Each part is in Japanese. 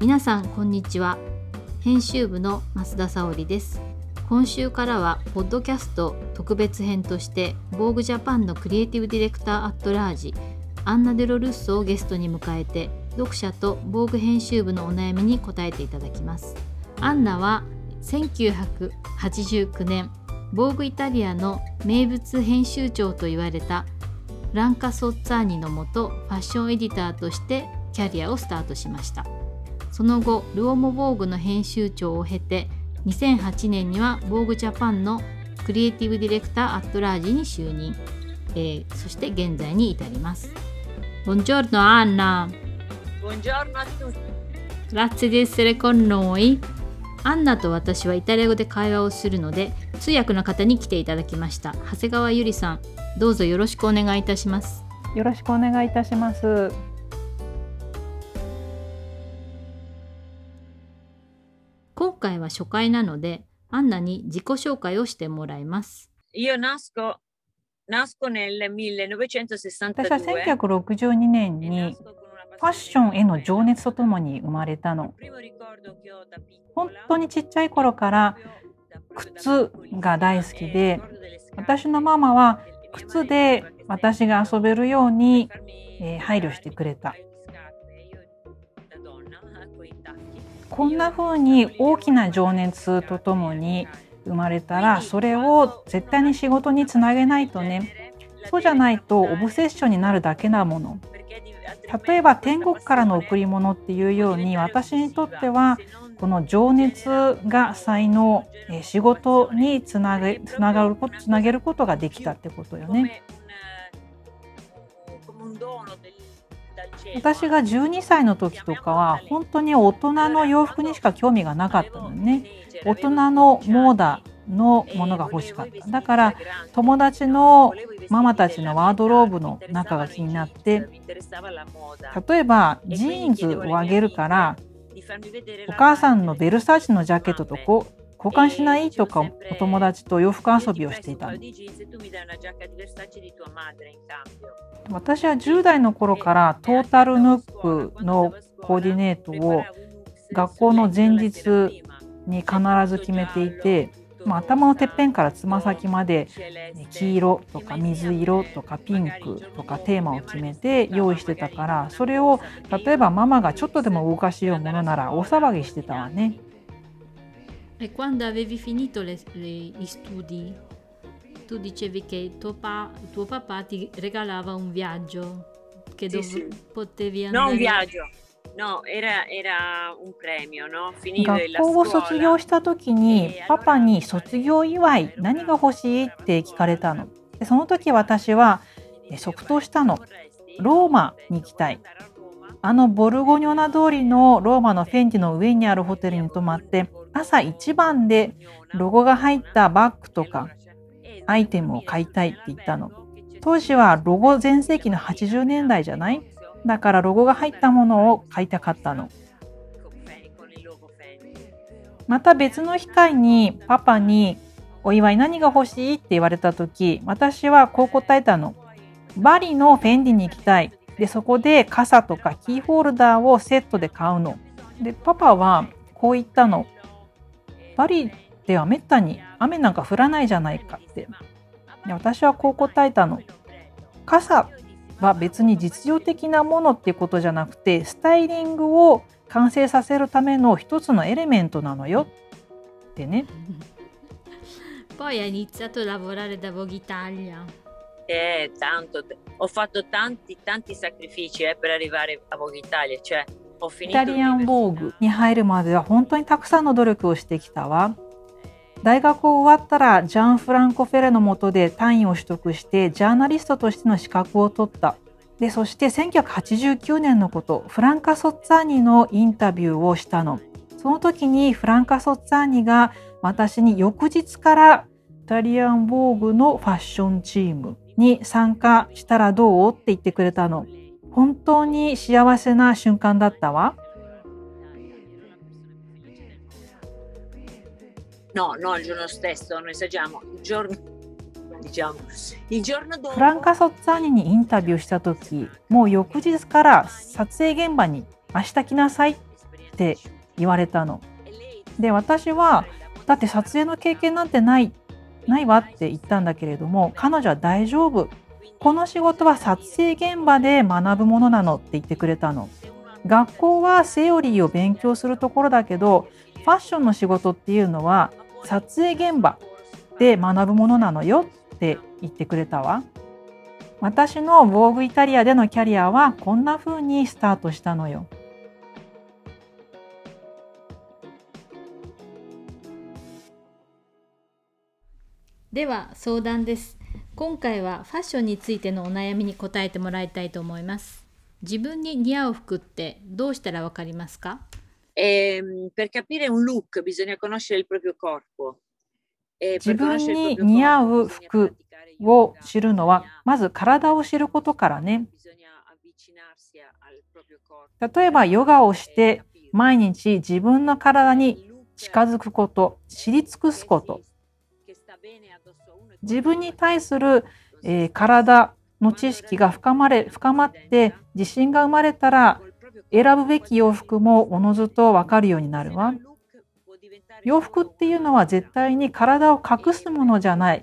皆さんこんにちは。編集部の増田沙織です。今週からはポッドキャスト特別編としてVogue Japanのクリエイティブディレクターアットラージアンナ・デロルッソをゲストに迎えて読者とVogue編集部のお悩みに答えていただきます。アンナは1989年Vogueイタリアの名物編集長と言われたフランカ・ソッツァーニのもとファッションエディターとしてキャリアをスタートしました。その後ルオモ・ボーグの編集長を経て2008年にはVogue Japanのクリエイティブディレクターアットラージに就任、そして現在に至ります。Buongiorno Anna. Buongiorno a tutti. Grazie di essere con noi. アンナと私はイタリア語で会話をするので通訳の方に来ていただきました。長谷川ゆりさん、どうぞよろしくお願いいたします。 よろしくお願いいたします。 今回は初回なのでアンナに自己紹介をしてもらいます。 Io nasco nel 1962. 私は1962年にファッションへの情熱とともに生まれたの。本当にちっちゃい頃から靴が大好きで、私のママは靴で私が遊べるように配慮してくれた。こんな風に大きな情熱とともに生まれたら、それを絶対に仕事につなげないとね。そうじゃないとオブセッションになるだけなもの。例えば天国からの贈り物っていうように、私にとってはこの情熱が才能、仕事につなげることができたってことよね。私が12歳の時とかは本当に大人の洋服にしか興味がなかったのね。大人のモーダのものが欲しかった。だから友達のママたちのワードローブの中が気になって、例えばジーンズをあげるからお母さんのベルサーチのジャケットと交換しないとか、お友達と洋服遊びをしていたの。私は10代の頃からトータルヌックのコーディネートを学校の前日に必ず決めていて、頭のてっぺんからつま先まで黄色とか水色とかピンクとかテーマを決めて用意してたから、それを例えばママがちょっとでも動かしようものなら大騒ぎしてたわね。 Quando avevi finito gli studi, tu dicevi che tuo papà ti regalava un viaggio che potevi andare. No, un viaggio. No, era un premio, no? Finire la 学校を卒業した時にパパに卒業祝い何が欲しいって聞かれたの。でその時私は即答したの。ローマに行きたい。ボルゴニョナ通りのローマのフェンディの上にあるホテルに泊まって朝一番でロゴが入ったバッグとかアイテムを買いたいって言ったの。当時はロゴ全盛期の80年代じゃない？だからロゴが入ったものを買いたかったの。また別の機会にパパにお祝い何が欲しいって言われた時、私はこう答えたの。バリのフェンディに行きたい。でそこで傘とかキーホルダーをセットで買うの。でパパはこう言ったの。バリではめったに雨なんか降らないじゃないかって。で私はこう答えたの。傘は別に実用的なものっていうことじゃなくて、スタイリングを完成させるための一つのエレメントなのよってね。 Poi hai iniziato a lavorare da Vogue Italia. Tanto. Ho fatto tanti sacrifici per arrivare a Vogue Italia. Cioè, ho finito イタリアンボーグに入るまでは本当にたくさんの努力をしてきたわ。大学を終わったらジャン・フランコ・フェレの下で単位を取得してジャーナリストとしての資格を取った。でそして1989年のこと、フランカ・ソッツァーニのインタビューをしたの。その時にフランカ・ソッツァーニが私に翌日からイタリアンボーグのファッションチームに参加したらどうって言ってくれたの。本当に幸せな瞬間だったわ。 No, il giorno stesso, non esageriamo. Il giorno dopo. フランカ・ソッツァーニにインタビューした時、もう翌日から撮影現場に明日来なさいって言われたの。で、私はだって撮影の経験なんてないわって言ったんだけれども、彼女は大丈夫。この仕事は撮影現場で学ぶものなのって言ってくれたの。学校はセオリーを勉強するところだけど、ファッションの仕事っていうのは撮影現場で学ぶものなのよって言ってくれたわ。私のVogueイタリアでのキャリアはこんな風にスタートしたのよ。 では相談です。今回はファッションについてのお悩みに答えてもらいたいと思います。自分に似合う服ってどうしたらわかりますか ？Per capire un look bisogna conoscere il proprio corpo. 自分に似合う服を知るのはまず体を知ることからね。例えばヨガをして毎日自分の体に近づくこと、知り尽くすこと、自分に対する、体の知識が深まって自信が生まれたら、選ぶべき洋服もおのずと分かるようになるわ。洋服っていうのは絶対に体を隠すものじゃない。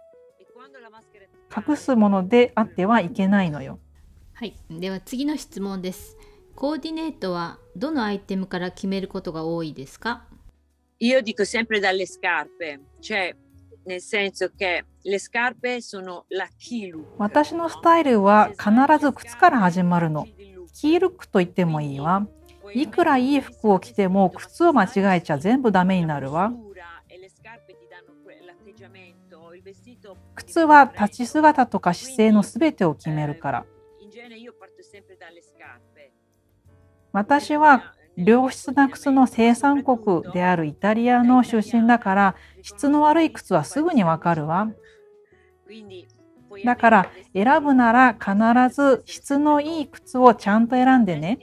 隠すものであってはいけないのよ。 はい、では次の質問です。コーディネートはどのアイテムから決めることが多いですか ？Io dico sempre dalle scarpe, cioè nel senso che le scarpe sono la key look. 私のスタイルは必ず靴から始まるの。キールックと言ってもいいわ。いくらいい服を着ても靴を間違えちゃ全部ダメになるわ。靴は立ち姿とか姿勢のすべてを決めるから。私は良質な靴の生産国であるイタリアの出身だから、質の悪い靴はすぐにわかるわ。だから選ぶなら必ず質のいい靴をちゃんと選んでね。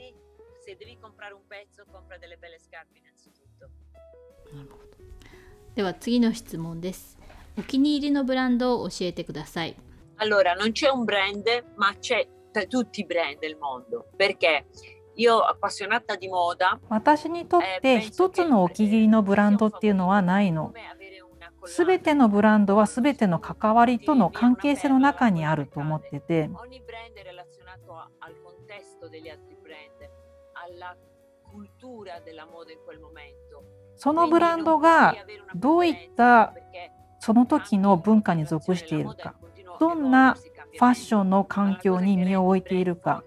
では次の質問です。お気に入りのブランドを教えてください。 Allora, non c'è un brand, ma c'è tra tutti i brand del mondo, perché io appassionata di moda. 私にとって一つのお気に入りのブランドっていうのはないの。すべてのブランドはすべての関わりとの関係性の中にあると思ってて、そのブランドがどういったその時の文化に属しているか、どんなファッションの環境に身を置いているか、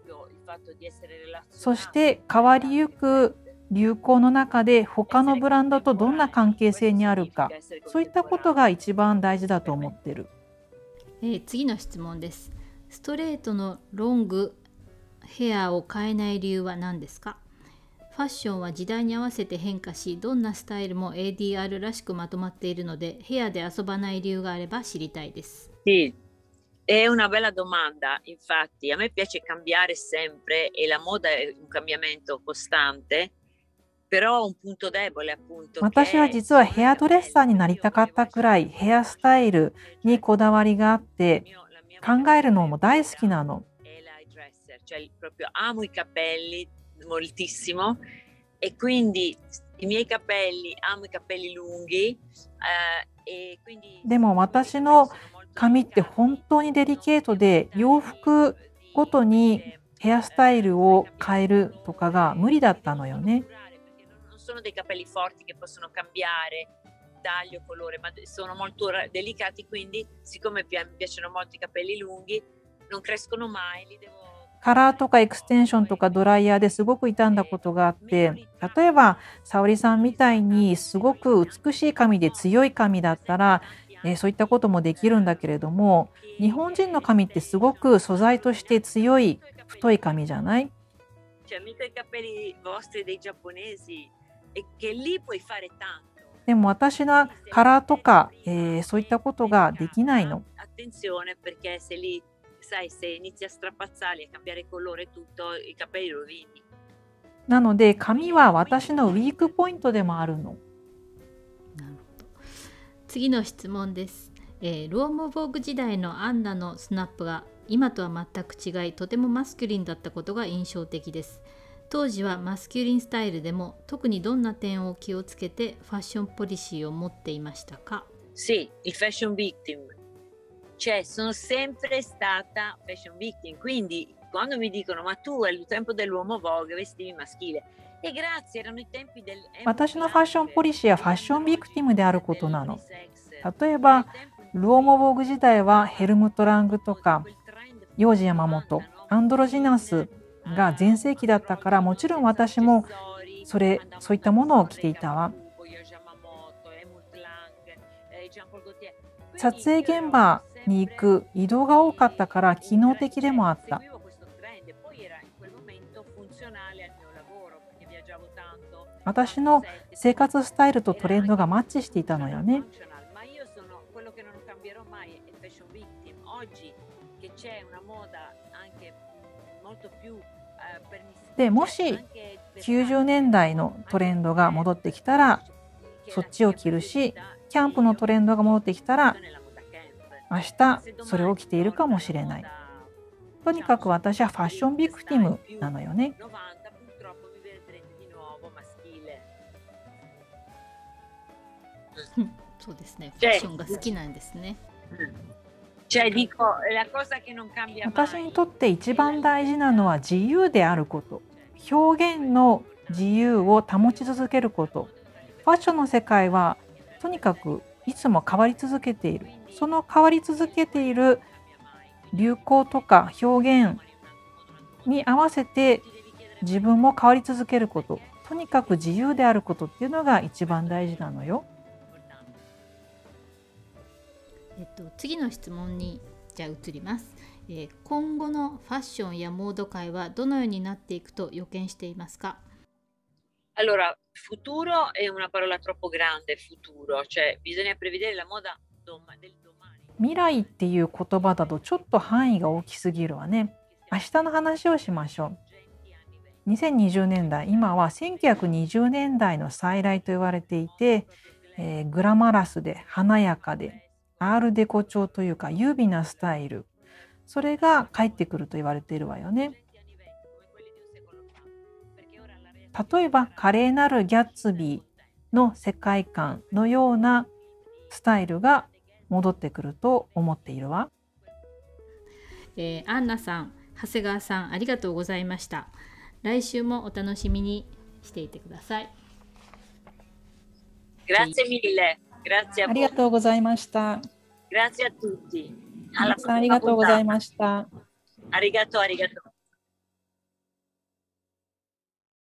そして変わりゆく流行の中で他のブランドとどんな関係性にあるか、そういったことが一番大事だと思ってる。 次の質問です。ストレートのロングヘアを変えない理由は何ですか？ファッションは時代に合わせて変化し、どんなスタイルも ADR らしくまとまっているので、ヘアで遊ばない理由があれば知りたいです。 Sì, è una bella domanda. Infatti, a me piace cambiare sempre e la moda è un cambiamento costante, però un punto debole appunto. 私は実はヘアドレッサーになりたかったくらいヘアスタイルにこだわりがあって、考えるのも大好きなの。 Cioè, proprio amo i capelli moltissimo e quindi i miei capelli, amo i capelli lunghi, e quindi でも私の髪って本当にデリケートで、洋服ごとにヘアスタイルを変えるとかが無理だったのよね。 non sono dei capelli forti che possono cambiare taglio, colore, ma sono molto delicati, quindi siccome mi piacciono molto i capelli lunghi, non crescono mai, li devo カラーとかエクステンションとかドライヤーですごく傷んだことがあって、例えば沙織さんみたいにすごく美しい髪で強い髪だったら、そういったこともできるんだけれども、日本人の髪ってすごく素材として強い太い髪じゃない？ cioè mica i capelli vostri dei giapponesi e che lì puoi fare tanto. でも私のカラーとか、そういったことができないの。 Attenzione perché se lì sai, se inizi a strapazzarli, a cambiare colore e tutto, i capelli rovini. なので髪は私のウィークポイントでもあるの。 なるほど。次の質問です。ロームボーグ時代のアンナのスナップが今とは全く違い、とてもマスキュリンだったことが印象的です。 当時はマスキュリンスタイルでも特にどんな点を気をつけてファッションポリシーを持っていましたか？ Sì, il fashion victim. Cioè, sono sempre stata fashion victim. Quindi, quando mi dicono, ma tu al tempo dell'uomo Vogue vestivi maschile. E grazie, erano i tempi del... 私のファッションポリシーはファッションビクティムであることなの。例えば、ルオモボーグ時代はヘルムト・ラングとか、ヨージ山本、アンドロジナスが全盛期だったから、もちろん私もそういったものを着ていたわ。撮影現場に行く移動が多かったから機能的でもあった。私の生活スタイルとトレンドがマッチしていたのよね。でもし90年代のトレンドが戻ってきたらそっちを着るし、キャンプのトレンドが戻ってきたら明日それを着ているかもしれない。とにかく私はファッションビクティムなのよね。 そうですね。ファッションが好きなんですね。 私にとって一番大事なのは自由であること。表現の自由を保ち続けること。ファッションの世界はとにかくいつも変わり続けている。その変わり続けている流行とか表現に合わせて自分も変わり続けること。とにかく自由であることっていうのが一番大事なのよ。 次の質問にじゃあ移ります。今後のファッションやモード界はどのようになっていくと予見していますか？ Allora, futuro è una parola troppo grande, futuro, cioè bisogna prevedere la moda del domani. 未来っていう言葉だとちょっと範囲が大きすぎるわね。明日の話をしましょう。2020年代、今は1920年代の再来と言われていて、グラマラスで華やかでアールデコ調というか優美なスタイル、それが帰ってくると言われているわよね。例えば華麗なるギャッツビーの世界観のようなスタイルが戻ってくると思っているわ。 アンナさん、長谷川さん、ありがとうございました。来週もお楽しみにしていてください。 Grazie mille. Grazie a ありがとうございました。 Grazie a tutti. ありがとうございました。 Arigato, arigato.